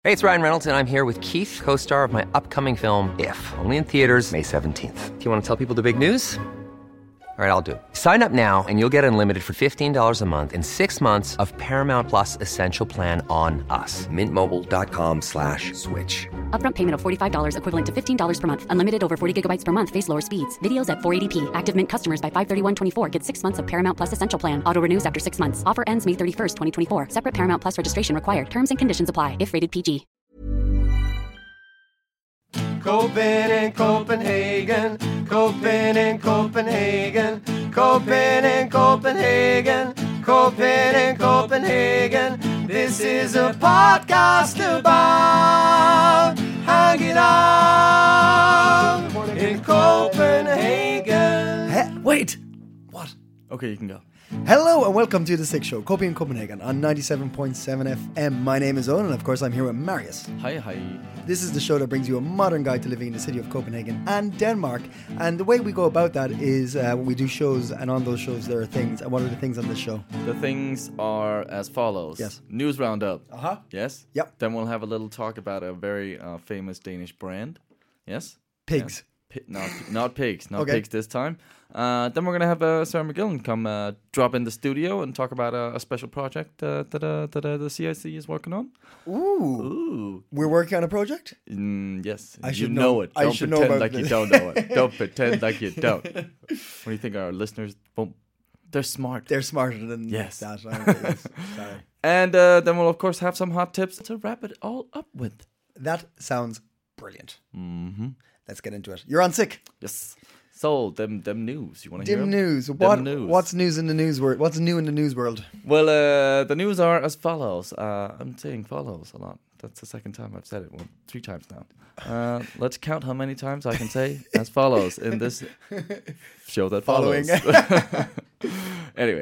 Hey, it's Ryan Reynolds, and I'm here with Keith, co-star of my upcoming film, If, only in theaters May 17th. Do you want to tell people the big news? All right, I'll do it. Sign up now and you'll get unlimited for $15 a month and 6 months of Paramount Plus Essential Plan on us. MintMobile.com/switch. Upfront payment of $45 equivalent to $15 per month. Unlimited over 40 gigabytes per month. Face lower speeds. Videos at 480p. Active Mint customers by 531.24 get 6 months of Paramount Plus Essential Plan. Auto renews after 6 months. Offer ends May 31st, 2024. Separate Paramount Plus registration required. Terms and conditions apply if rated PG. Copen in Copenhagen, Copen in Copenhagen, Copen in Copenhagen, Copen in Copenhagen. This is a podcast about hanging out in Copenhagen. Wait! What? Okay, you can go. Hello and welcome to The Sick Show, Copy in Copenhagen on 97.7 FM. My name is Owen and of course I'm here with Marius. Hi. This is the show that brings you a modern guide to living in the city of Copenhagen and Denmark. And the way we go about that is when we do shows, and on those shows there are things. And what are the things on this show? The things are as follows. Yes. News roundup. Uh-huh. Yes? Yep. Then we'll have a little talk about a very famous Danish brand. Yes? Pigs. Not pigs. Not Okay. pigs this time. Then we're going to have Sarah McGillen come drop in the studio and talk about a special project that the CIC is working on. Ooh. We're working on a project? Yes. I should you know- it. I Don't should know pretend about like you this. don't know it. Don't pretend like you don't. What do you think our listeners won't? They're smart. They're smarter than Yes. that. Aren't they? Yes. Sorry. And then we'll, of course, have some hot tips to wrap it all up with. That sounds brilliant. Mm-hmm. Let's get into it. You're on Sick. Yes. So, them news. You want to hear Dim them? news. Dim news. What's news in the news world? What's new in the news world? Well, the news are as follows. I'm saying follows a lot. That's the second time I've said it. Well, 3 times now. Let's count how many times I can say as follows in this show that follows. Anyway,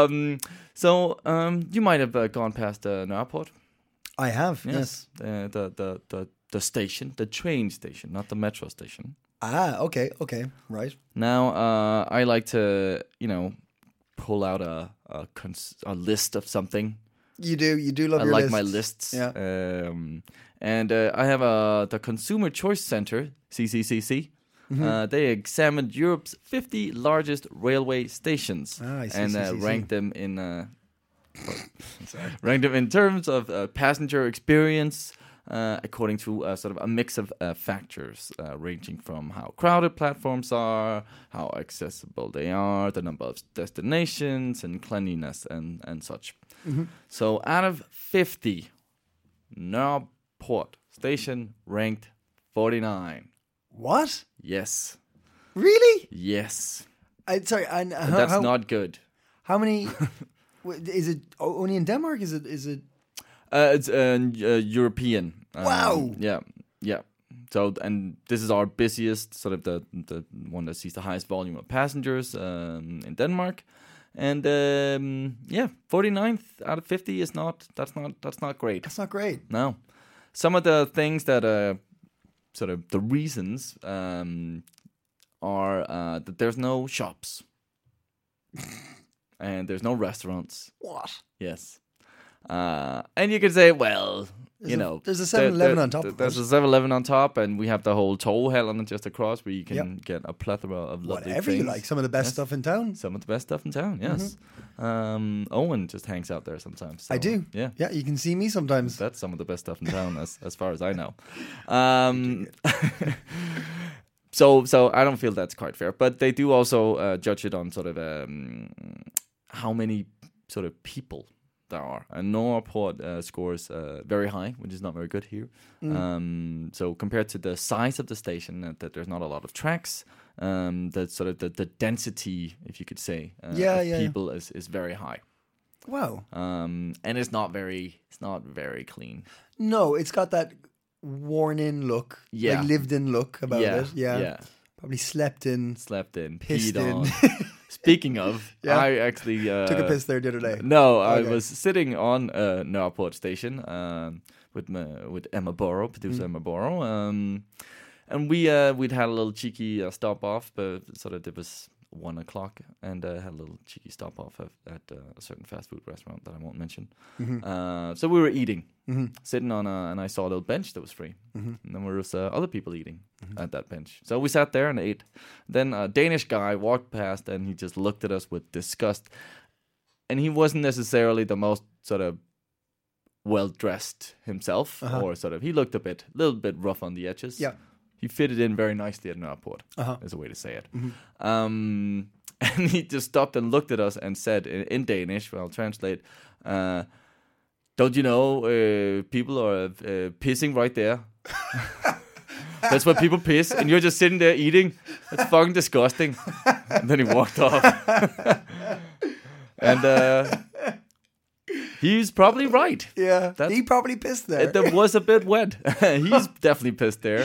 so you might have gone past Nørreport. I have. Yes. The station, the train station, not the metro station. Okay, right. Now, I like to, pull out a list of something. You do love I your like lists. my lists. Yeah. And I have the Consumer Choice Center, CCCC. Mm-hmm. They examined Europe's 50 largest railway stations I see, and CCCC. ranked them in terms of passenger experience. According to sort of a mix of factors, ranging from how crowded platforms are, how accessible they are, the number of destinations, and cleanliness and such. Mm-hmm. So out of 50, Nørreport Station ranked 49. What? Yes. Really? Yes. Sorry. And That's not good. How many? Is it only in Denmark? Is it? It's European. Wow. Yeah. So, and this is our busiest, sort of the one that sees the highest volume of passengers in Denmark. And 49th out of 50 is that's not great. That's not great. No. Some of the things that sort of the reasons are that there's no shops and there's no restaurants. What? Yes. And you could say, well, there's a 7-Eleven on top of There's it. a 7-Eleven on top, and we have the whole Torvhallen just across where you can get a plethora of lovely Whatever you things. like. Some of the best stuff in town. Some of the best stuff in town, yes. Owen just hangs out there sometimes. So, I do. Yeah. Yeah, you can see me sometimes. That's some of the best stuff in town, as far as I know. So I don't feel that's quite fair, but they do also judge it on sort of how many sort of people there are. And Nørreport scores very high, which is not very good here. So compared to the size of the station, that there's not a lot of tracks, that sort of the density, if you could say, of people is very high. Wow. And it's not very clean. No, it's got that worn-in look. Yeah. Like lived-in look about it. Yeah. Yeah. Probably slept in. Peed Pissed in. on. Speaking of, I actually took a piss there the other day. No, I Okay. was sitting on Nørreport station with Emma Borrow, producer Emma Borrow, and we'd had a little cheeky stop off, but sort of it was 1:00 and had a little cheeky stop off at a certain fast food restaurant that I won't mention. So we were eating, sitting on and I saw a little bench that was free. And then there was other people eating at that bench. So we sat there and ate. Then a Danish guy walked past and he just looked at us with disgust. And he wasn't necessarily the most sort of well-dressed himself, or sort of, he looked a little bit rough on the edges. Yeah. He fitted in very nicely at an airport, is a way to say it. And he just stopped and looked at us and said in Danish, well, I'll translate, don't you know, people are pissing right there? That's where people piss, and you're just sitting there eating. That's fucking disgusting. And then he walked off. And he's probably right. Yeah, he probably pissed there. There was a bit wet. He's definitely pissed there.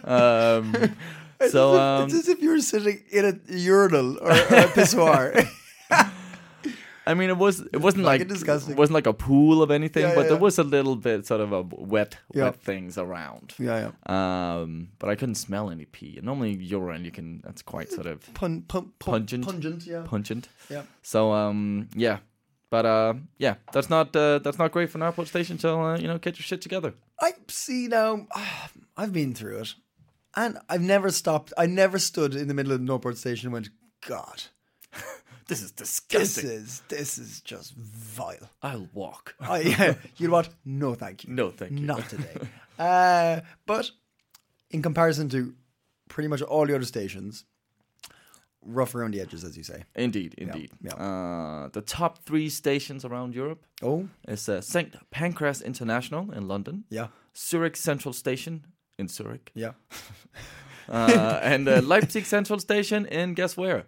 It's as if you were sitting in a urinal or a pissoir. I mean, it wasn't like disgusting. It wasn't like a pool of anything, but yeah. there was a little bit sort of a wet things around. Yeah. But I couldn't smell any pee. And normally urine, you can. That's quite sort of pungent. Yeah. Pungent. Yeah. So yeah. But that's not great for an airport station. So get your shit together. I see now. I've been through it, and I've never stopped. I never stood in the middle of the Northport station and went, God, this is disgusting. This is just vile. I'll walk. You know what? No, thank you. No, thank you. Not today. But in comparison to pretty much all the other stations, rough around the edges, as you say. Indeed. Yeah. The top 3 stations around Europe is St. Pancras International in London. Yeah. Zurich Central Station in Zurich. Yeah. And Leipzig Central Station in guess where?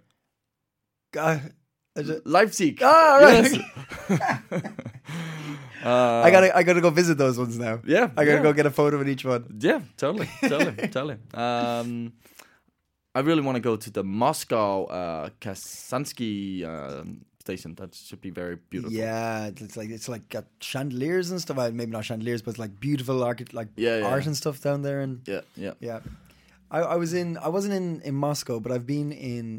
Leipzig. Ah, right. Yes. I gotta go visit those ones now. Yeah. I gotta go get a photo of each one. Yeah, totally. I really want to go to the Moscow Kazansky station. That should be very beautiful. Yeah, it's like got chandeliers and stuff. Maybe not chandeliers, but it's like beautiful art and stuff down there. And yeah. I wasn't in Moscow, but I've been in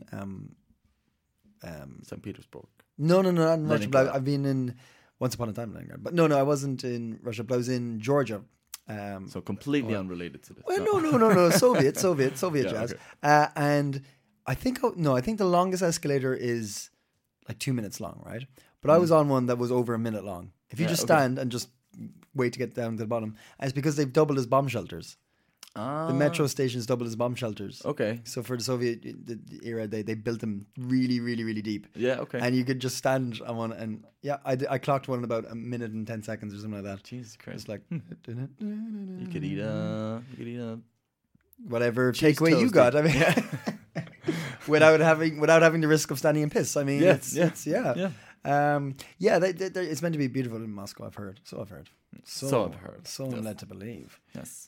St. Petersburg. No, not in Russia. Leningrad. But I've been in once upon a time in Leningrad. But no, I wasn't in Russia. But I was in Georgia. So completely unrelated to this. Well, no. Soviet jazz. Okay. And I think the longest escalator is like 2 minutes long, right? But I was on one that was over a minute long. If you just stand and just wait to get down to the bottom, and it's because they've doubled as bomb shelters. The metro stations doubled as bomb shelters. Okay. So for the Soviet era, they built them really, really, really deep. Yeah. Okay. And you could just stand on one, and I clocked one in about a minute and 10 seconds or something like that. Jesus Christ! It's like you could eat a whatever cheese takeaway you toasty. got. I mean, without having the risk of standing in piss. I mean, it's it's it's meant to be beautiful in Moscow. I've heard. So I've heard. So I'm led to believe. Yes.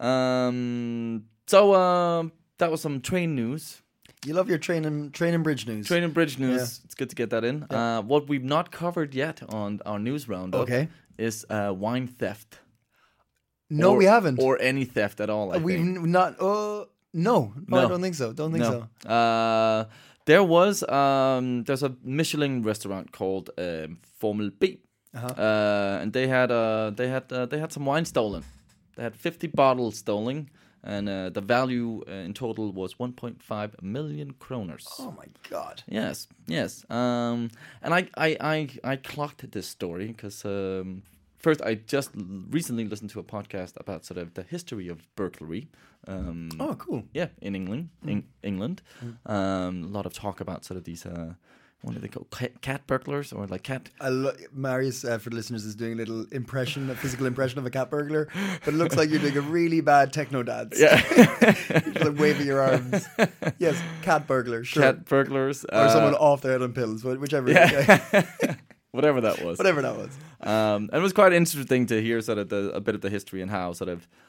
So that was some train news. You love your train and bridge news. Train and bridge news. Yeah. It's good to get that in. Yeah. What we've not covered yet on our news roundup is wine theft. No, we haven't. Or any theft at all. We've not. No, I don't think so. So. There's a Michelin restaurant called Formel B, and they had some wine stolen. They had 50 bottles stolen, and the value in total was 1.5 million kroners. Oh my God! Yes. And I clocked this story because first I just recently listened to a podcast about sort of the history of burglary. Oh, cool! Yeah, in England, England, a lot of talk about sort of these. What do they call cat burglars or like cat? Marius, for the listeners, is doing a little impression, a physical impression of a cat burglar, but it looks like you're doing a really bad techno dance. Yeah, you're like waving your arms. Yes, cat burglar, sure. Cat burglars, or someone off their head on pills, whichever. Yeah. Whatever that was. And it was quite interesting to hear sort of a bit of the history and how sort of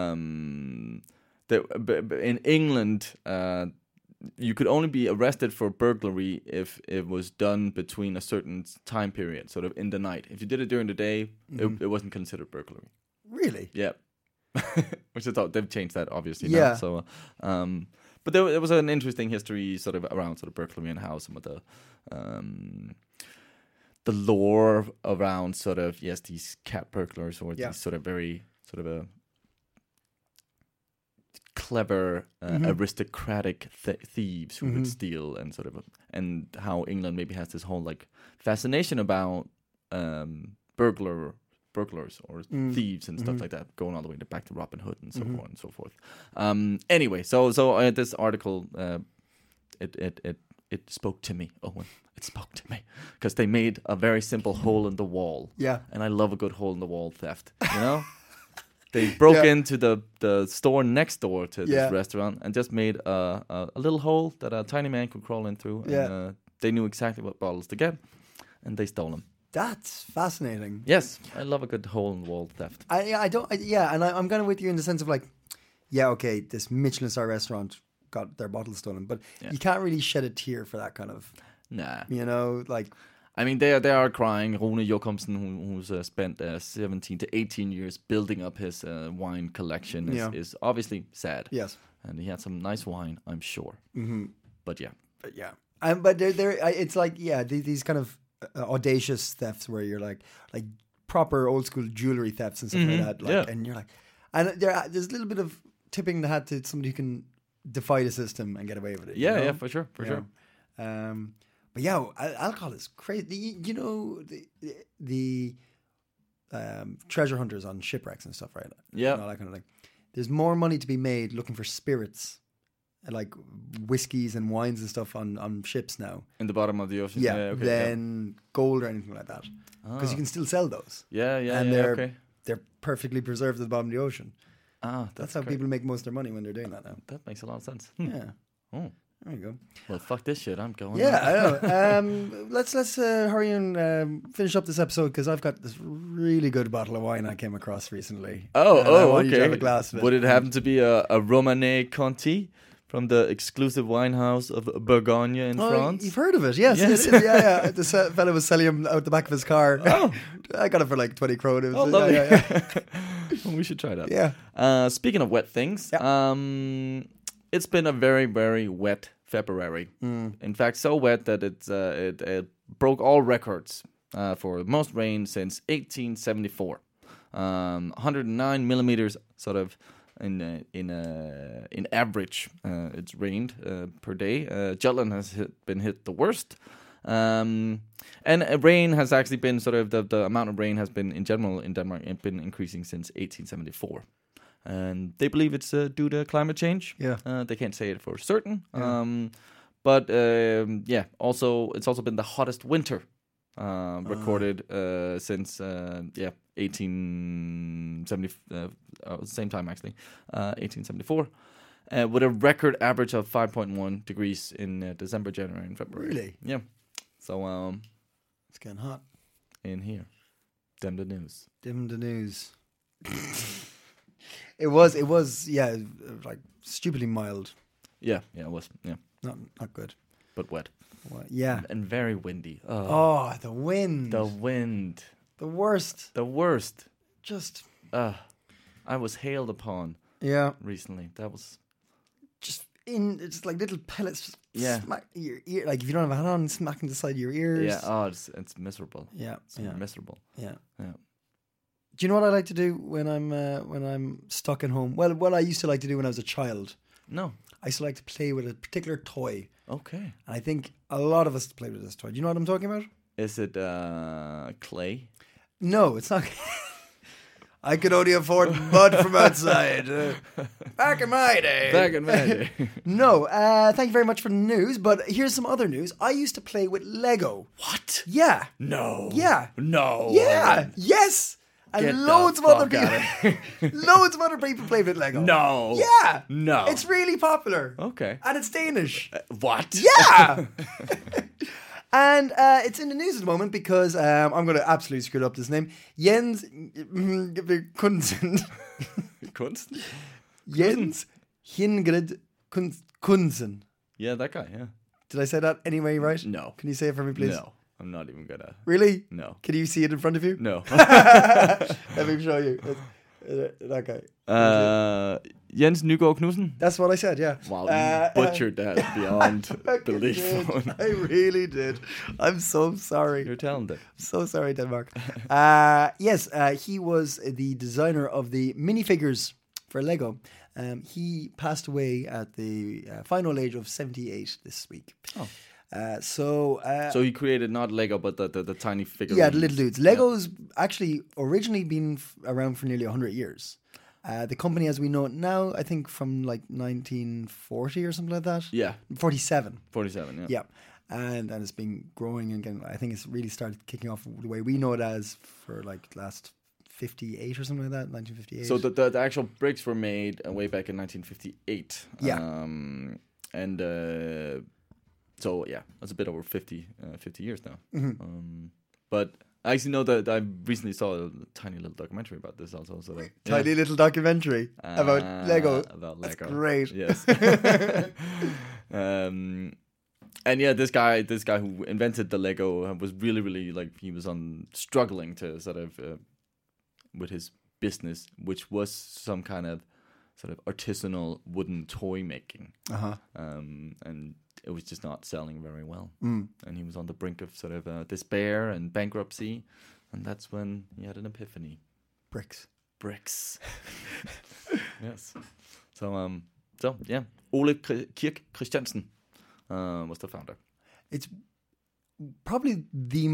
in England. You could only be arrested for burglary if it was done between a certain time period, sort of in the night. If you did it during the day, it wasn't considered burglary. Really? Yeah. Which I thought they've changed that obviously now. So, But there was an interesting history sort of around sort of burglary and how some of the lore around sort of these cat burglars or these sort of very sort of a clever aristocratic thieves who would steal and sort of and how England maybe has this whole like fascination about burglars or thieves and stuff like that, going all the way back to Robin Hood and so on and so forth. Anyway, so this article it spoke to me, Owen. It spoke to me because they made a very simple hole in the wall. Yeah, and I love a good hole in the wall theft. You know, they broke into the store next door to this restaurant and just made a little hole that a tiny man could crawl in through. And they knew exactly what bottles to get, and they stole them. That's fascinating. Yes, I love a good hole in the wall theft. I'm kind of with you in the sense of like, okay, this Michelin star restaurant got their bottles stolen, but you can't really shed a tear for that kind of. Nah, you know, like. I mean, they are crying. Rune Jokumsen, who's spent 17 to 18 years building up his wine collection, is obviously sad. Yes, and he had some nice wine, I'm sure. Mm-hmm. But but it's like these kind of audacious thefts where you're like proper old school jewelry thefts and stuff like that. Like, and you're like, and there's a little bit of tipping the hat to somebody who can defy the system and get away with it. Yeah, for sure. But alcohol is crazy. You know, the treasure hunters on shipwrecks and stuff, right? Yeah, and all that kind of thing. There's more money to be made looking for spirits, like whiskeys and wines and stuff on ships now. In the bottom of the ocean. Than gold or anything like that, because you can still sell those. And they're perfectly preserved at the bottom of the ocean. That's how people make most of their money when they're doing that now. That makes a lot of sense. Yeah. Oh. There you go. Well, fuck this shit. I'm going. Yeah, I know. Let's hurry and finish up this episode because I've got this really good bottle of wine I came across recently. I want you to have a glass of it. Would it happen to be a Romanée Conti from the exclusive winehouse of Bourgogne in France? You've heard of it? Yes. Yeah. This fella was selling him out the back of his car. Oh, I got it for like 20 kroner. Lovely. Well, we should try that. Yeah. Speaking of wet things, it's been a very, very wet February. In fact, so wet that it broke all records for the most rain since 1874. 109 millimeters, sort of in average, it's rained per day. Jutland has been hit the worst. And rain has actually been sort of the amount of rain has been in general in Denmark been increasing since 1874. And they believe it's due to climate change. Yeah, they can't say it for certain. Yeah. But also it's also been the hottest winter recorded since 1870. Same time actually, 1874, with a record average of 5.1 degrees in December, January, and February. Really? Yeah. So it's getting hot in here. Dim the news. It was, like stupidly mild. Yeah, it was. Yeah, not good, but wet. Yeah, and very windy. The wind. The worst. Just. I was hailed upon. Yeah. Recently, that was it's like little pellets. Just smack your ear. Like if you don't have a hat on, smacking the side of your ears. Yeah. Oh, it's miserable. Yeah. It's miserable. Yeah. Do you know what I like to do when I'm stuck at home? Well, what I used to like to do when I was a child. No. I used to like to play with a particular toy. Okay. And I think a lot of us play with this toy. Do you know what I'm talking about? Is it clay? No, it's not. I could only afford mud from outside. Back in my day. No, thank you very much for the news, but here's some other news. I used to play with Lego. What? Yeah. No. Yeah. No. Yeah. Yes. And loads of other people play with Lego. No. Yeah. No. It's really popular. Okay. And it's Danish. What? Yeah. And it's in the news at the moment because I'm going to absolutely screw up this name. Jens Kunsen. Kunsen? Jens Hingrid Kunsen. Yeah, that guy, yeah. Did I say that anyway right? No. Can you say it for me, please? No. I'm not even gonna. Really? No. Can you see it in front of you? No. Let me show you. That guy. Jens Nygaard Knudsen. That's what I said. Yeah. Wow, you butchered that beyond belief. I really did. I'm so sorry. You're talented. So sorry, Denmark. Yes, he was the designer of the minifigures for Lego. He passed away at the final age of 78 this week. Oh. So he created not Lego, but the tiny figurines. Yeah, the little dudes. Lego's actually originally been around for nearly 100 years. The company, as we know it now, I think from like 1940 or something like that. Yeah. 47. 47, yeah. Yeah. And it's been growing again. I think it's really started kicking off the way we know it as for like last 58 or something like that, 1958. So the actual bricks were made way back in 1958. Yeah. So yeah, that's a bit over 50 years now. Mm-hmm. But I actually know that I recently saw a tiny little documentary about this also. So Tiny little documentary about Lego. About Lego. That's great. Yes. And yeah, this guy who invented the Lego was really like he was struggling to sort of with his business, which was some kind of sort of artisanal wooden toy making. And it was just not selling very well. And he was on the brink of sort of despair and bankruptcy, and that's when he had an epiphany. Bricks. Yes. So yeah, Ole Kirk Christiansen was the founder. It's probably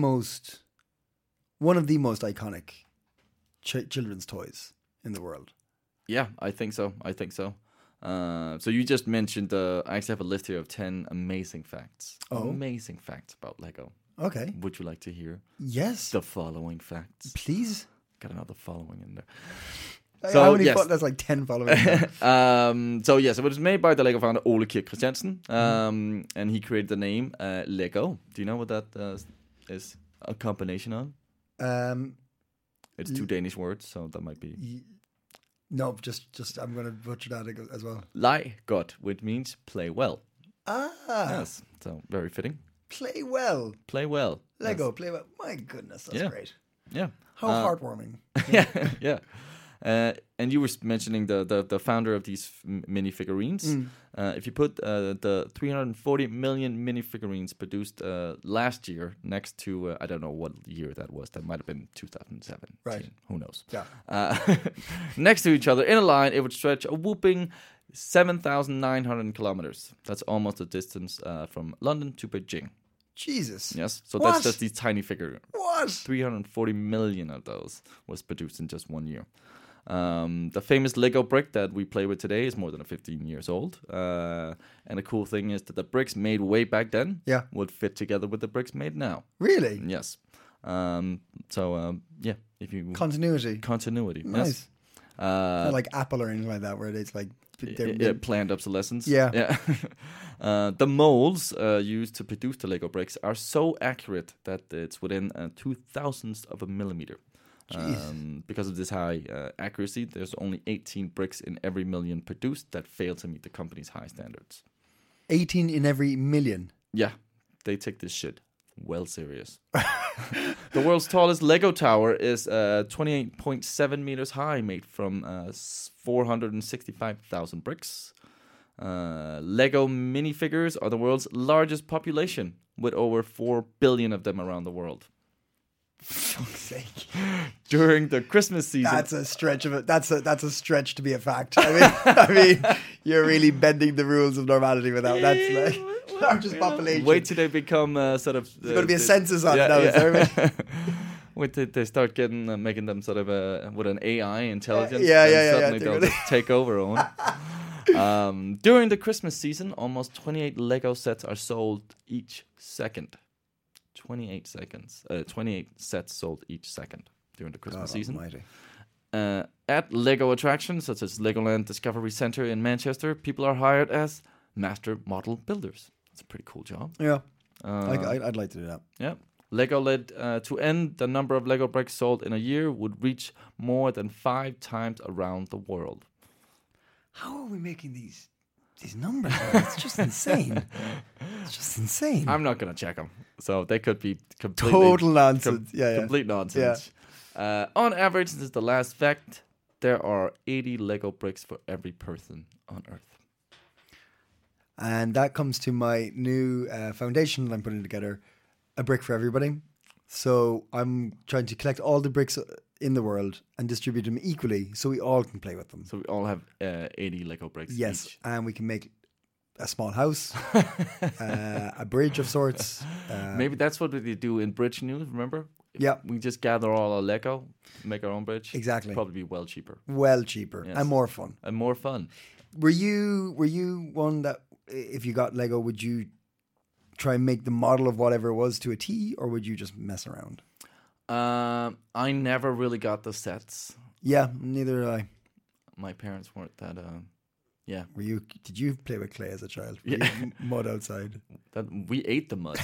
one of the most iconic children's toys in the world. Yeah, I think so. So you just mentioned, I actually have a list here of 10 amazing facts. Oh. Amazing facts about Lego. Okay. Would you like to hear Yes. the following facts? Please. Got another following in there. So how many that's like 10 following. So yes, it was made by the Lego founder Ole Kirk Christiansen, and he created the name Lego. Do you know what that is a combination of? It's two Danish words, so that might be... No, just I'm going to butcher that as well. Leg godt, which means play well. Yes, so very fitting. Play well. Lego, yes. Play well. My goodness, that's great. Yeah. How heartwarming. Yeah. And you were mentioning the founder of these mini figurines. If you put the 340 million mini figurines produced last year next to, I don't know what year that was. That might have been 2007. Right. Who knows? Yeah. Next to each other in a line, it would stretch a whooping 7,900 kilometers. That's almost the distance from London to Beijing. Jesus. Yes. So What? that's just these tiny figures. What? 340 million of those was produced in just 1 year. The famous Lego brick that we play with today is more than 15 years old. And the cool thing is that the bricks made way back then would fit together with the bricks made now. Really? Yes. If you... Continuity. Nice. Yes. Not like Apple or anything like that, where it's like... planned obsolescence. Yeah. The molds used to produce the Lego bricks are so accurate that it's within 2,000ths of a millimeter. Because of this high accuracy, there's only 18 bricks in every million produced that fail to meet the company's high standards. 18 in every million? Yeah, they take this shit well serious. The world's tallest Lego tower is 28.7 meters high, made from 465,000 bricks. Lego minifigures are the world's largest population, with over 4 billion of them around the world. For fuck's sake. During the Christmas season. That's a stretch of it. That's a stretch to be a fact. I mean, you're really bending the rules of normality with that. That's like largest population. Wait till they become sort of. There's going to be a census on it now. Yeah. Wait till they start making them sort of with an AI intelligence. Suddenly they'll just take over on. During the Christmas season, almost 28 Lego sets are sold each second. 28 sets sold each second during the Christmas season. At Lego attractions such as Legoland Discovery Center in Manchester, people are hired as master model builders. It's a pretty cool job. Yeah, I'd like to do that. Yeah. Lego led to end the number of Lego bricks sold in a year would reach more than 5 times around the world. How are we making these numbers? It's just insane. I'm not going to check them. So they could be completely... Total nonsense. Complete nonsense. Yeah. On average, this is the last fact. there are 80 Lego bricks for every person on Earth. And that comes to my new foundation that I'm putting together, a brick for everybody. So I'm trying to collect all the bricks in the world and distribute them equally so we all can play with them. So we all have 80 Lego bricks Yes, each. and we can make a small house, a bridge of sorts. Maybe that's what we do in Bridge News, remember? Yeah. We just gather all our Lego, make our own bridge. Exactly. Probably be well cheaper. Well cheaper Yes. and more fun. And more fun. Were you one that, if you got Lego, would you try and make the model of whatever it was to a T, or would you just mess around? I never really got the sets. Yeah, neither did I. My parents weren't that. Yeah. Did you play with clay as a child? Were Yeah. you mud outside? That we ate the mud.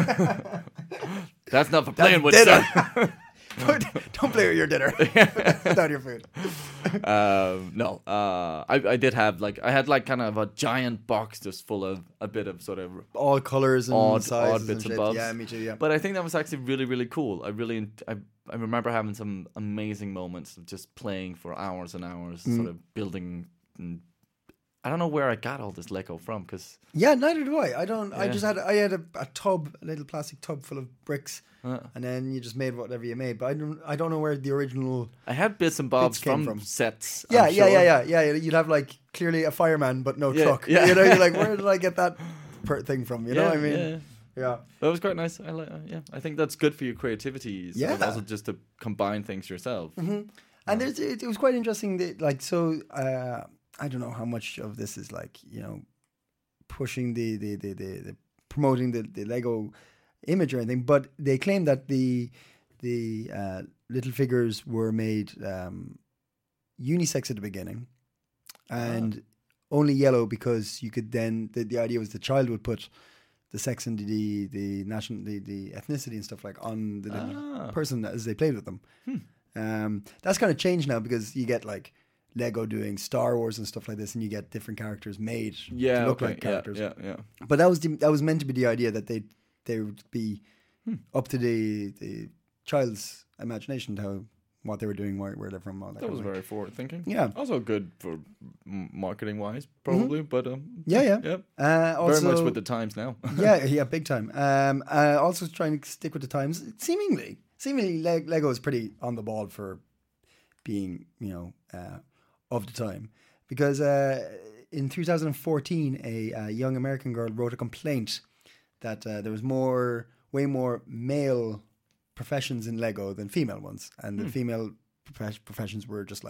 That's not for playing with. dinner. Son. Don't play with your dinner. It's not your food. No. I did have I had kind of a giant box just full of a bit of sort of All colors and odd sizes bits and and shit. bobs. Yeah, me too. Yeah. But I think that was actually really, really cool. I remember having some amazing moments of just playing for hours and hours, sort of building. And I don't know where I got all this Lego from, because Yeah, neither do I. I don't. I Yeah. just had. I had a tub, a little plastic tub full of bricks, and then you just made whatever you made. But I don't know where the original. I had bits and bobs Bits came from from. sets. Yeah, I'm yeah, sure. yeah. You'd have clearly a fireman, but no Yeah, truck. yeah. You know, you're like, where did I get that thing from? You know what I mean? Yeah. Yeah. That was quite nice. I think that's good for your creativity. Sort of Yeah. also just to combine things yourself. And it was quite interesting that I don't know how much of this is pushing the promoting the Lego image or anything, but they claim that the little figures were made unisex at the beginning and only yellow because you could then the idea was the child would put the sex and the ethnicity and stuff on the little person as they played with them. That's kind of changed now because you get Lego doing Star Wars and stuff like this, and you get different characters made to look like characters. Yeah. But that was meant to be the idea that they would be up to the child's imagination, what they were doing, where they're from, all that. That was kind of very forward thinking. Yeah. Also good for marketing wise, probably. But Yeah. Also, very much with the times now. yeah, big time. Also trying to stick with the times. Seemingly, Lego is pretty on the ball for being, of the time, because in 2014, a young American girl wrote a complaint that there was way more male professions in Lego than female ones, and the female professions were just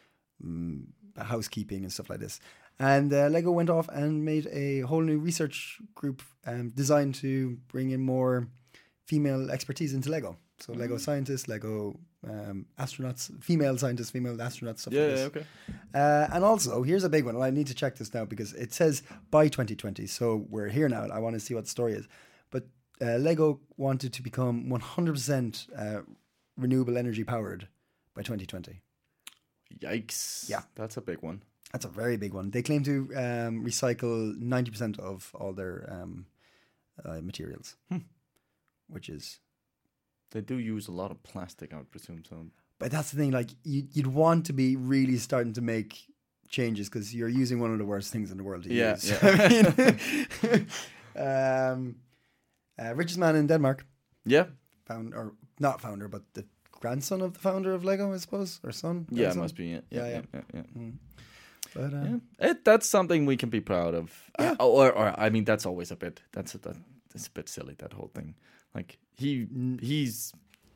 housekeeping and stuff like this. And Lego went off and made a whole new research group designed to bring in more female expertise into Lego. So Lego scientists, Lego astronauts, female scientists, female astronauts, stuff like this. Yeah, okay. And also, here's a big one. I need to check this now because it says by 2020. So we're here now. I want to see what the story is. But Lego wanted to become 100% renewable energy powered by 2020. Yikes. Yeah. That's a big one. That's a very big one. They claim to recycle 90% of all their materials, which is... They do use a lot of plastic, I would presume. So, but that's the thing. You'd want to be really starting to make changes because you're using one of the worst things in the world to use. Yeah. I mean, richest man in Denmark, yeah. Not founder, but the grandson of the founder of Lego, I suppose, or son. Yeah, grandson? it must be. Yeah. But That's something we can be proud of. Yeah. Or I mean, that's always a bit. That's a bit silly. That whole thing. He's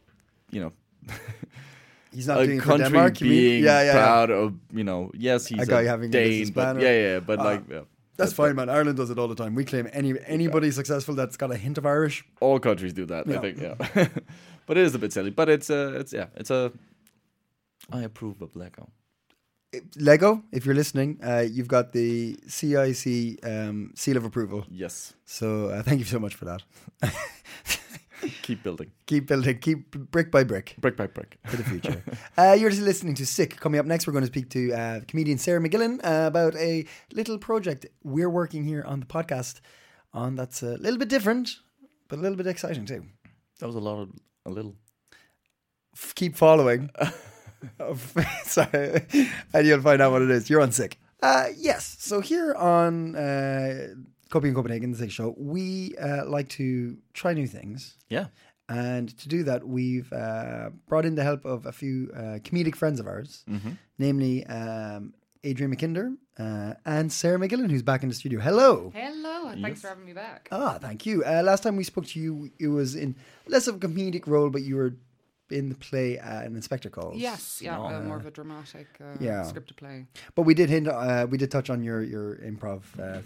he's not a doing it for country Denmark. You mean? being Yeah. proud of, yes, he's A guy having a Dane, business but banner. but That's fine, man. Ireland does it all the time. We claim anybody successful that's got a hint of Irish. all countries do that. Yeah. I think, yeah. But it is a bit silly. But it's I approve of Lego. Lego, if you're listening, you've got the CIC seal of approval. Yes. So thank you so much for that. Keep building. Keep building, keep brick by brick Brick by brick. for the future. You're just listening to Sick. Coming up next, we're going to speak to comedian Sarah McGillen about a little project we're working here on the podcast on that's a little bit different, but a little bit exciting too. That was a little. Keep following. Sorry, and you'll find out what it is. You're on sick. Yes. So here on Copy in Copenhagen, the Sick Show, we like to try new things. Yeah. And to do that, we've brought in the help of a few comedic friends of ours, namely Adrian McKinder and Sarah McGillen, who's back in the studio. Hello. Hello, and thanks for having me back. Thank you. Last time we spoke to you, it was in less of a comedic role, but you were in the play An Inspector Calls. Yes, more of a dramatic scripted play. But we did we did touch on your improv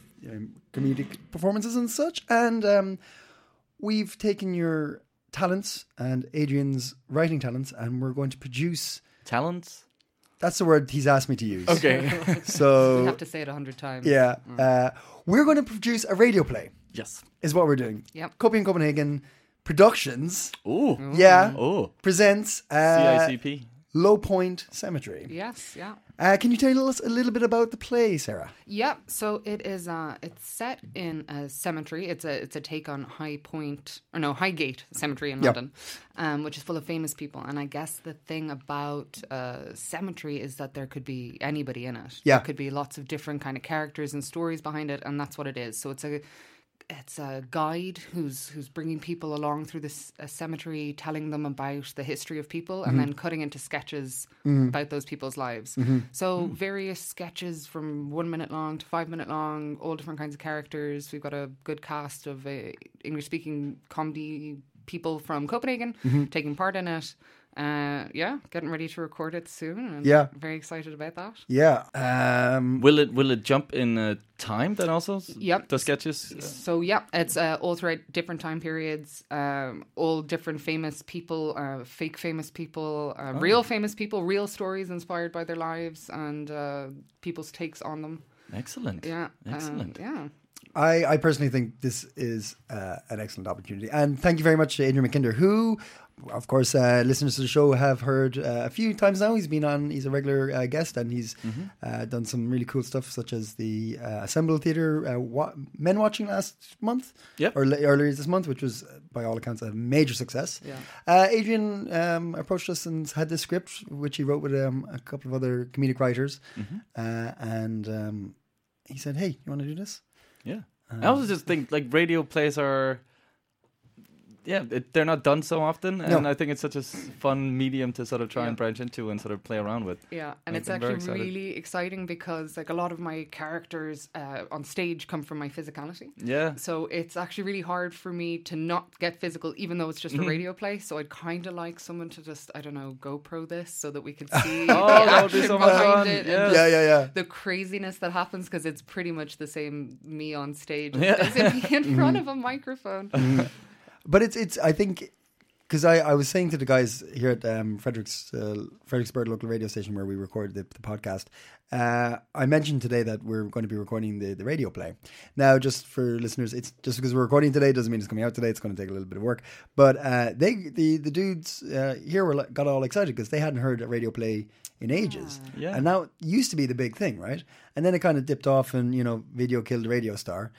comedic performances and such, and we've taken your talents and Adrian's writing talents, and we're going to produce Talents? That's the word he's asked me to use. Okay. So You have to say it 100 times. yeah, we're going to produce a radio play. Yes. Is what we're doing. Yep. Copy in Copenhagen Productions. Ooh. Yeah. Oh. Presents CICP. Low Point Cemetery. Yes, yeah. Can you tell us a little bit about the play, Sarah? Yeah, so it is. It's set in a cemetery. It's a take on Highgate Cemetery in London, which is full of famous people. And I guess the thing about cemetery is that there could be anybody in it. Yeah, there could be lots of different kind of characters and stories behind it, and that's what it is. So it's a guide who's bringing people along through this cemetery, telling them about the history of people, and then cutting into sketches about those people's lives. So various sketches from 1 minute long to 5 minute long, all different kinds of characters. We've got a good cast of English-speaking comedy people from Copenhagen taking part in it. Getting ready to record it soon. And very excited about that. Yeah. Will it jump in time then also? Yep. The sketches? So it's all throughout different time periods, all different famous people, fake famous people, real famous people, real stories inspired by their lives and people's takes on them. Excellent. Yeah. Excellent. I personally think this is an excellent opportunity. And thank you very much to Adrian McKinder, who, of course, listeners to the show have heard a few times now. He's a regular guest, and he's done some really cool stuff, such as the Assemble Theatre Men Watching last month, or earlier this month, which was, by all accounts, a major success. Yeah. Adrian approached us and had this script, which he wrote with a couple of other comedic writers, and he said, "Hey, you want to do this?" Yeah. I also just think like radio plays are, they're not done so often, and I think it's such a fun medium to sort of try and branch into and sort of play around with. Yeah, and it's actually really exciting because like a lot of my characters on stage come from my physicality. Yeah. So it's actually really hard for me to not get physical, even though it's just a radio play. So I'd kind of like someone to just, I don't know, GoPro this so that we could see the that would be action so much behind fun. it. Yes. And the craziness that happens because it's pretty much the same me on stage as me in front of a microphone. But it's I think, because I was saying to the guys here at Fredericksburg local radio station where we record the podcast, I mentioned today that we're going to be recording the radio play. Now, just for listeners, it's just because we're recording today doesn't mean it's coming out today. It's going to take a little bit of work. But the dudes here got all excited because they hadn't heard a radio play in ages. Yeah. And now it used to be the big thing, right? And then it kind of dipped off and, video killed the radio star.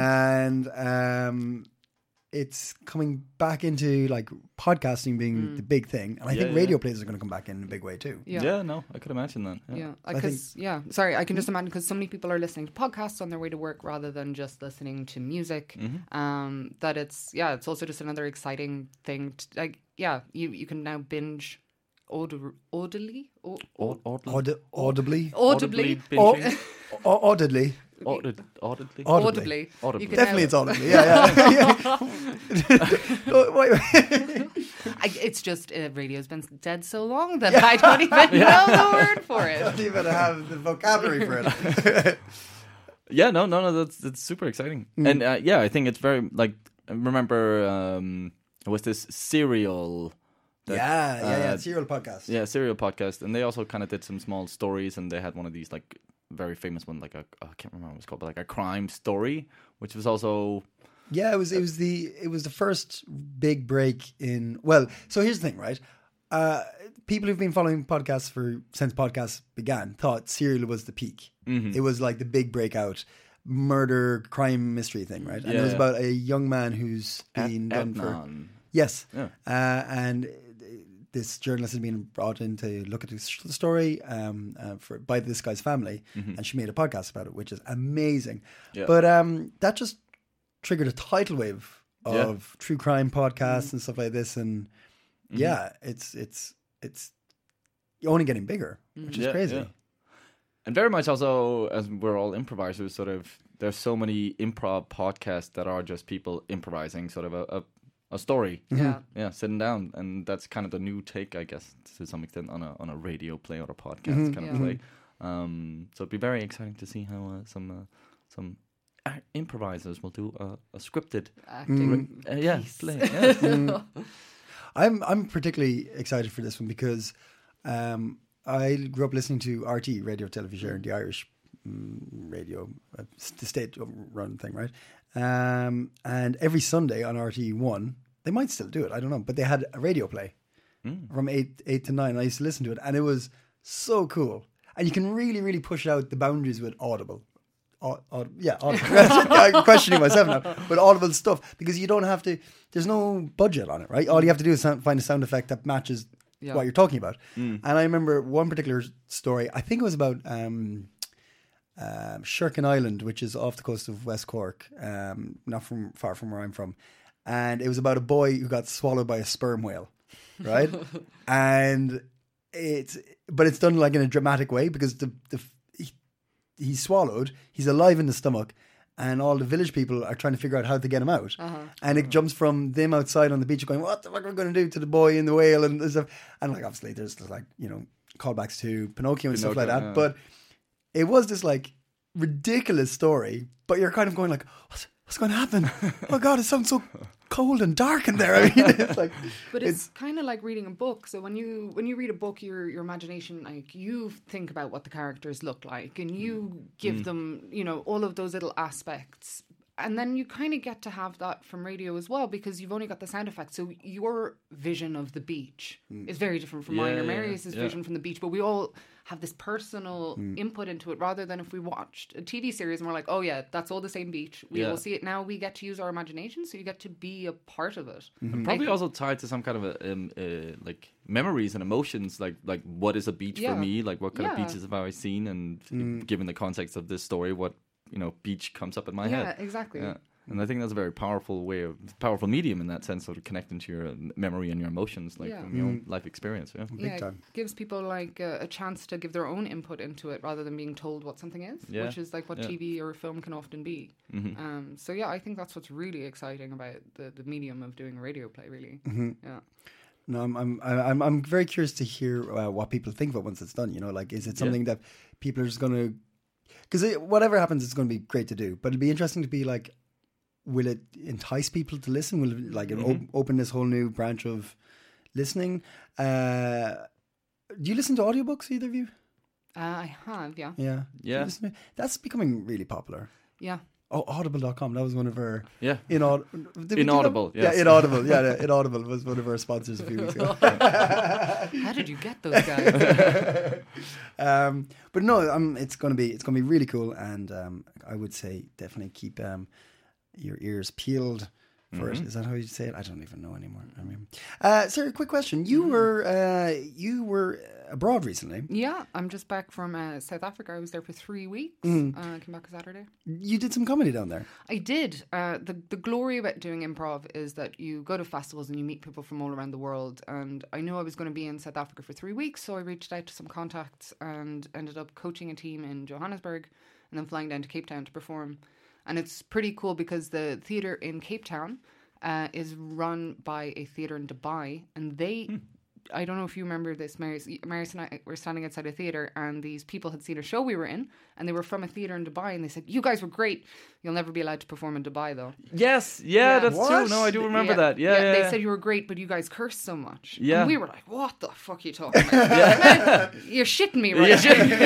And it's coming back into like podcasting being the big thing, and I think radio plays are going to come back in a big way too. No, I could imagine that. Sorry, I can just imagine because so many people are listening to podcasts on their way to work rather than just listening to music. That it's also just another exciting thing. You can now binge audibly. Definitely, it's audibly. Yeah. It's just radio's been dead so long that I don't even know the word for it. I don't even have the vocabulary for it. That's super exciting. And I think it's very like I remember it was this Serial. Serial podcast. Yeah, Serial podcast, and they also kind of did some small stories, and they had one of these like very famous one, like I can't remember what it was called, but like a crime story, which was also it was the first big break in. Well, so here's the thing, right? People who've been following podcasts since podcasts began thought Serial was the peak. It was like the big breakout murder crime mystery thing, right? And it was about a young man who's been done for. Yes, and this journalist had been brought in to look at the story by this guy's family, and she made a podcast about it, which is amazing. Yeah. But that just triggered a tidal wave of true crime podcasts and stuff like this, and it's only getting bigger, which is crazy. Yeah. And very much also, as we're all improvisers, sort of, there's so many improv podcasts that are just people improvising sort of a story. Yeah, sitting down. And that's kind of the new take, I guess, to some extent, on a radio play or a podcast kind of play. So it'd be very exciting to see how some improvisers will do a scripted Acting. play. Yeah. I'm particularly excited for this one because I grew up listening to RT, Radio Television, the Irish radio, the state-run thing, right? And every Sunday on RT1, they might still do it, I don't know, but they had a radio play from 8 to 9. I used to listen to it, and it was so cool. And you can really, really push out the boundaries with Audible. Audible. I'm questioning myself now. But Audible stuff, because you don't have to, there's no budget on it, right? All you have to do is find a sound effect that matches what you're talking about. And I remember one particular story, I think it was about Sherkin Island, which is off the coast of West Cork, not far from where I'm from. And it was about a boy who got swallowed by a sperm whale, right? And it's done like in a dramatic way, because he's swallowed, he's alive in the stomach, and all the village people are trying to figure out how to get him out. And it jumps from them outside on the beach going, what the fuck are we going to do to the boy in the whale and stuff. And like, obviously there's like, you know, callbacks to Pinocchio and stuff like that. But it was this like ridiculous story, but you're kind of going like, what's going to happen? Oh God, it sounds so cold and dark in there. I mean, it's like, but it's kind of like reading a book. So when you read a book, your imagination, like, you think about what the characters look like, and you give them, you know, all of those little aspects. And then you kind of get to have that from radio as well, because you've only got the sound effects. So your vision of the beach is very different from mine or Marius's vision from the beach. But we all have this personal input into it, rather than if we watched a TV series and we're like, oh yeah, that's all the same beach. We will see it now. We get to use our imagination, so you get to be a part of it. And probably also tied to some kind of like memories and emotions, like what is a beach for me? Like, what kind of beaches have I seen? And given the context of this story, what, you know, beach comes up in my head. Yeah, exactly. Yeah. And I think that's a very powerful medium in that sense, sort of connecting to your memory and your emotions, like from your own life experience. Yeah, big time. It gives people like a chance to give their own input into it, rather than being told what something is, which is like what TV or film can often be. So yeah, I think that's what's really exciting about the medium of doing a radio play, really. Yeah. No, I'm very curious to hear what people think of it once it's done. You know, like, is it something that people are just going to? Because whatever happens, it's going to be great to do. But it'll be interesting to be like, will it entice people to listen? Will it like open this whole new branch of listening? Do you listen to audiobooks, either of you? I have, yeah. Yeah. That's becoming really popular. Yeah. Oh, Audible.com. That was one of our... Inaudible. Yes. Yeah, Inaudible. Yeah, Inaudible was one of our sponsors a few weeks ago. How did you get those guys? But no, it's gonna be really cool, and I would say definitely keep your ears peeled for it. Is that how you say it? I don't even know anymore. I mean, Sarah, quick question. You were abroad recently. Yeah, I'm just back from South Africa. I was there for 3 weeks. I came back on Saturday. You did some comedy down there. I did. The glory about doing improv is that you go to festivals and you meet people from all around the world. And I knew I was going to be in South Africa for 3 weeks, so I reached out to some contacts and ended up coaching a team in Johannesburg and then flying down to Cape Town to perform. And it's pretty cool because the theatre in Cape Town is run by a theatre in Dubai, and they... I don't know if you remember this, Marius and I were standing outside a theatre, and these people had seen a show we were in, and they were from a theatre in Dubai, and they said, you guys were great. You'll never be allowed to perform in Dubai, though. Yes, that's true. No, I do remember that. Yeah. They said you were great, but you guys cursed so much. Yeah. And we were like, what the fuck are you talking about? You're shitting me, right?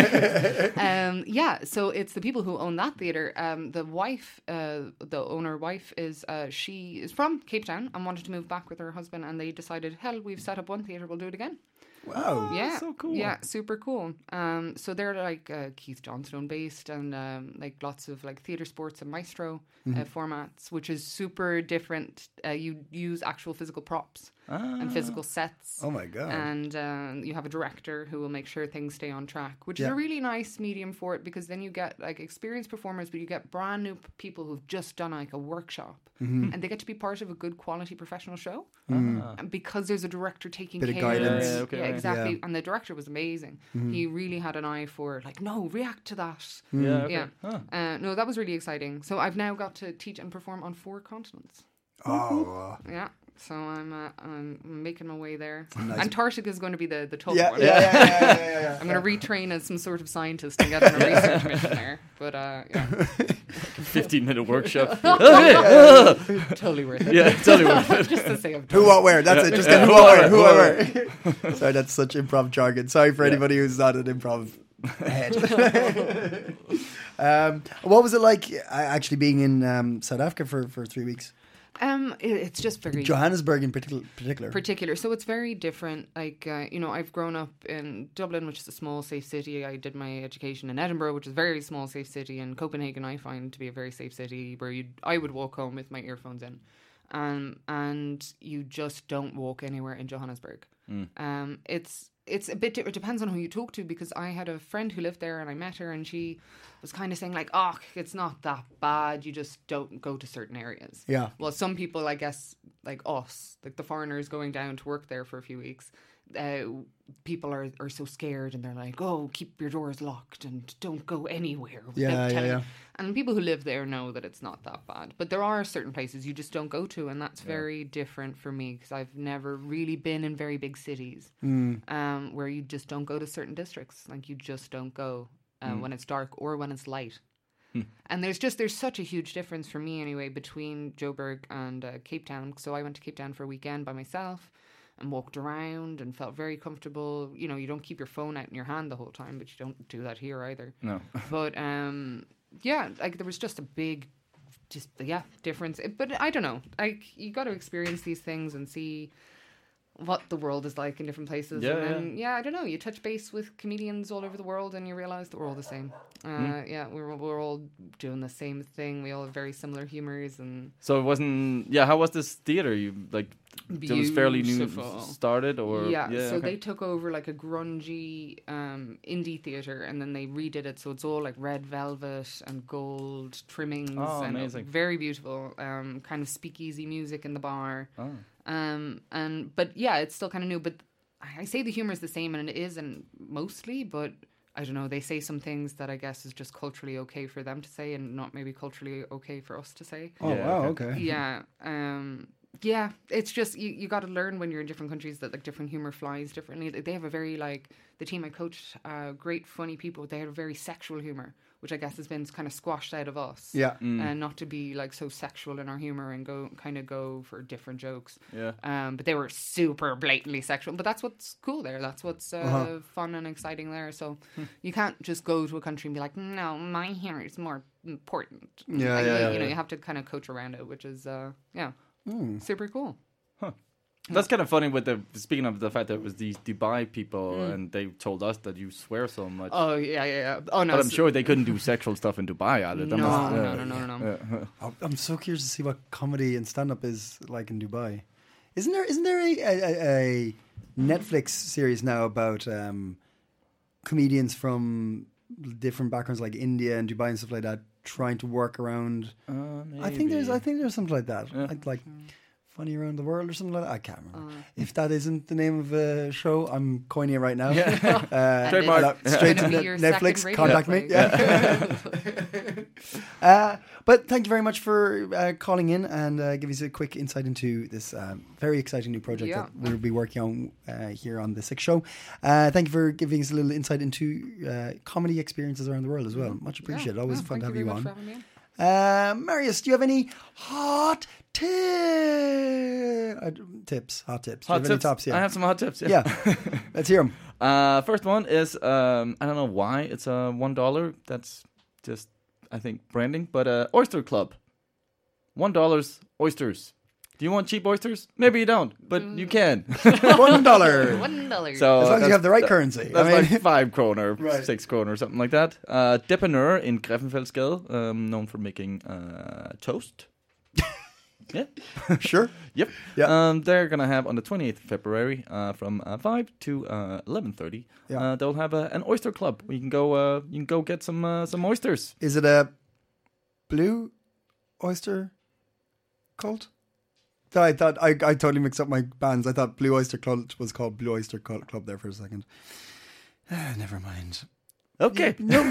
So it's the people who own that theatre. The wife, the owner wife, she is from Cape Town and wanted to move back with her husband, and they decided, hell, we've set up one theatre, we'll do it again. Wow. Yeah. So cool. Yeah, super cool. So they're like Keith Johnstone based, and like lots of like theatre sports and maestro formats, which is super different. You use actual physical props. and physical sets. Oh my God. And you have a director who will make sure things stay on track, which is Yeah. a really nice medium for it, because then you get like experienced performers, but you get brand new people who've just done like a workshop, Mm-hmm. and they get to be part of a good quality professional show. And because there's a director taking Bit of care, guidance. Yeah, okay, right. exactly. Yeah. And the director was amazing. He really had an eye for like, no, react to that. Yeah. Okay. Yeah. No, that was really exciting. So I've now got to teach and perform on 4 continents. Oh. Yeah. So I'm making my way there. Antarctica is going to be the tough Yeah, one. yeah. I'm going to retrain as some sort of scientist and get on a research mission there. But yeah, 15-minute workshop. totally worth it. Yeah, totally worth it. Just to say I've Who, done what, where? That's it. Just get who, what, where. Who, what, where. Sorry, that's such improv jargon. Sorry for anybody who's not an improv head. What was it like actually being in South Africa for 3 weeks? It's just very Johannesburg in particular. So it's very different. Like, I've grown up in Dublin, which is a small, safe city. I did my education in Edinburgh, which is a very small, safe city. And Copenhagen, I find to be a very safe city where I would walk home with my earphones in. And you just don't walk anywhere in Johannesburg. It's a bit different. It depends on who you talk to, because I had a friend who lived there and I met her and she was kind of saying like, oh, it's not that bad. You just don't go to certain areas. Yeah. Well, some people, I guess, like us, like the foreigners going down to work there for a few weeks, people are so scared and they're like, oh, keep your doors locked and don't go anywhere without telling you. And people who live there know that it's not that bad. But there are certain places you just don't go to, and that's very different for me, because I've never really been in very big cities where you just don't go to certain districts. Like, you just don't go when it's dark or when it's light. And there's such a huge difference for me anyway between Joburg and Cape Town. So I went to Cape Town for a weekend by myself and walked around and felt very comfortable. You know, you don't keep your phone out in your hand the whole time, but you don't do that here either. No. But yeah, like there was just a big difference. But I don't know. Like, you got to experience these things and see what the world is like in different places. And then, I don't know, you touch base with comedians all over the world and you realise that we're all the same. Yeah, we're all doing the same thing. We all have very similar humours. And so it wasn't. Yeah, how was this theater? You like it was fairly new started, or so they took over like a grungy indie theatre, and then they redid it, so it's all like red velvet and gold trimmings. And amazing. Very beautiful. Kind of speakeasy music in the bar. But yeah, it's still kind of new, but I say the humour is the same, and it is, and mostly, but I don't know, they say some things that I guess is just culturally okay for them to say and not maybe culturally okay for us to say. Oh, wow, okay. Yeah. Yeah, it's just, you got to learn when you're in different countries that like different humour flies differently. They have a very, like, the team I coached, great funny people, they had a very sexual humour, which I guess has been kind of squashed out of us. Yeah. And not to be like so sexual in our humour and go for different jokes. Yeah. But they were super blatantly sexual. But that's what's cool there. That's what's fun and exciting there. So you can't just go to a country and be like, no, my humour is more important. You know, you have to kind of coach around it, which is super cool. That's kind of funny with speaking of the fact that it was these Dubai people and they told us that you swear so much. Oh, yeah. Oh, no. But I'm sure they couldn't do sexual stuff in Dubai either. No. I'm so curious to see what comedy and stand-up is like in Dubai. Isn't there a Netflix series now about comedians from different backgrounds like India and Dubai and stuff like that trying to work around? I think there's something like that. Like Funny Around the World or something like that. I can't remember. If that isn't the name of a show, I'm coining it right now. Straight to Netflix. Contact me. But thank you very much for calling in and giving us a quick insight into this very exciting new project that we'll be working on here on the Six Show. Thank you for giving us a little insight into comedy experiences around the world as well. Much appreciated. Always fun to have you on. Marius, do you have any hot tips? Hot tips. Hot do you have tips. Any tops? Yeah. I have some hot tips. Yeah. Let's hear them. First one is I don't know why it's $1. That's just I think branding, but Oyster Club. $1 oysters. Do you want cheap oysters? Maybe you don't, but you can. $1. $1. So as long as you have the right currency. That's like 5 kroner, Right. 6 kroner, something like that. Depanneur in Greffenfeldsgade, known for making toast. Yeah. Sure. Yep. Yeah. They're gonna have on the 28th of February from 5 to 11:30. Yeah. They'll have an oyster club where you can go get some oysters. Is it a Blue Oyster Cult? I thought I totally mixed up my bands. I thought Blue Oyster Cult was called Blue Oyster Club there for a second. Never mind. Okay. No.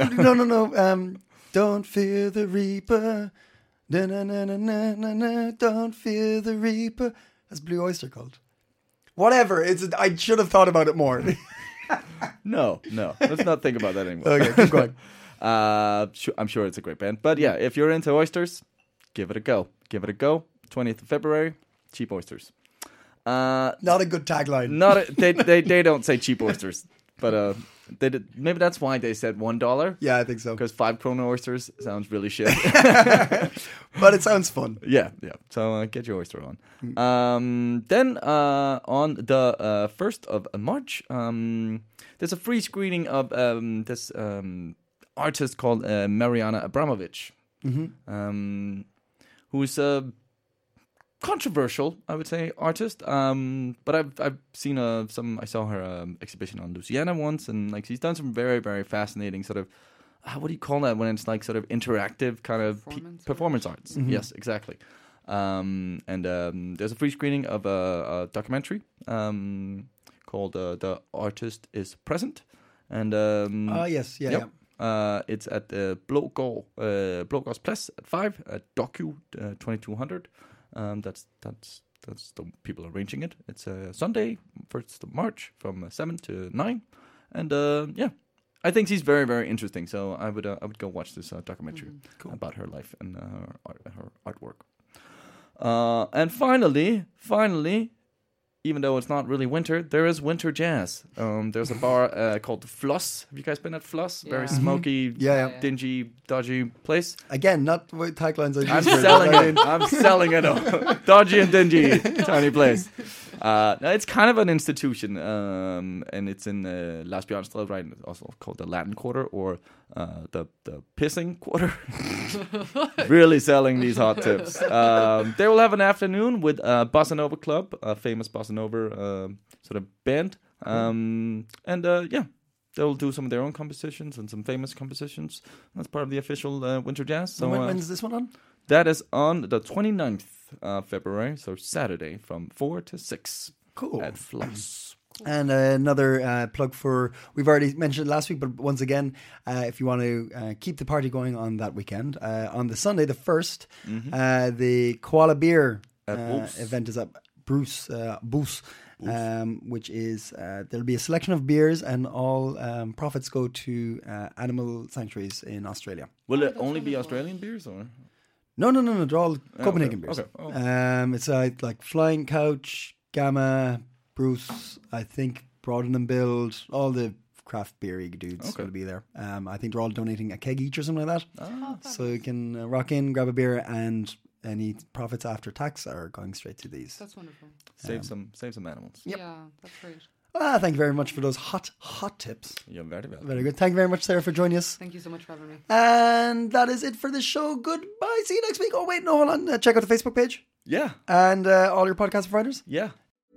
Don't fear the Reaper. Na na na na na na na. Don't fear the Reaper. That's Blue Oyster Cult. Whatever. I should have thought about it more. No. Let's not think about that anymore. Okay, keep going. I'm sure it's a great band. But yeah, if you're into oysters, give it a go. 20th of February, cheap oysters. Not a good tagline. They don't say cheap oysters, but maybe that's why they said $1. Yeah, I think so. Because 5 krona oysters sounds really shit. But it sounds fun. Yeah. So get your oyster on. Then on the 1st of March, there's a free screening of this artist called Mariana Abramovic, who's a controversial, I would say, artist. But I've seen I saw her exhibition on Louisiana once, and like she's done some very, very fascinating sort of what do you call that when it's like sort of interactive kind of performance arts? Yes, exactly. And there's a free screening of a documentary called "The Artist Is Present," and yes, yeah. Yep. It's at Blågårds Plads at 5 at Docu 2200. That's the people arranging it. It's a Sunday, 1st of March from 7 to 9, and I think she's very, very interesting. So I would go watch this documentary about her life and her artwork. And finally, even though it's not really winter, there is winter jazz. There's a bar called Floss. Have you guys been at Floss? Yeah. Very smoky, dingy, dodgy place. Again, not what taglines I use. I'm selling it. Dodgy and dingy, tiny place. No, it's kind of an institution, and it's in Lars Bjørnstad, right? Also called the Latin Quarter or the Pissing Quarter. Really selling these hot tips. They will have an afternoon with Bossa Nova Club, a famous Bossa Nova sort of band, they'll do some of their own compositions and some famous compositions. That's part of the official Winter Jazz. So when's this one on? That is on the 29th of February, so Saturday from 4 to 6. Cool. At Floss. And another plug for, we've already mentioned it last week, but once again, if you want to keep the party going on that weekend, on the Sunday, the 1st, the Koala Beer event is at Boost, which is, there'll be a selection of beers and all profits go to animal sanctuaries in Australia. Will it only be Australian beers or? No, they're all Copenhagen beers. Okay. Oh. It's like Flying Couch, Gamma, Bruce, I think Broaden and Build, all the craft beery dudes will be there. I think they're all donating a keg each or something like that. So you can rock in, grab a beer, and any profits after tax are going straight to these. That's wonderful. Save some animals. Yep. Yeah, that's great. Thank you very much for those hot tips. You're very welcome. Very good. Thank you very much, Sarah, for joining us. Thank you so much for having me. And that is it for this show. Goodbye. See you next week. Oh, wait, no, hold on. Check out the Facebook page. Yeah. And all your podcast providers. Yeah.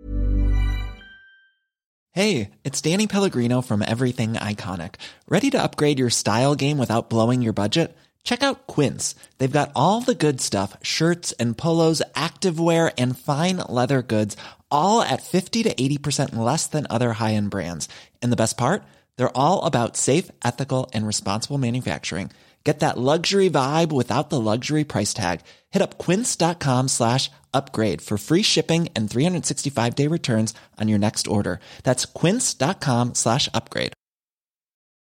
Hey, it's Danny Pellegrino from Everything Iconic. Ready to upgrade your style game without blowing your budget? Check out Quince. They've got all the good stuff, shirts and polos, activewear, and fine leather goods, all at 50 to 80% less than other high-end brands. And the best part? They're all about safe, ethical, and responsible manufacturing. Get that luxury vibe without the luxury price tag. Hit up quince.com/upgrade for free shipping and 365-day returns on your next order. That's quince.com/upgrade.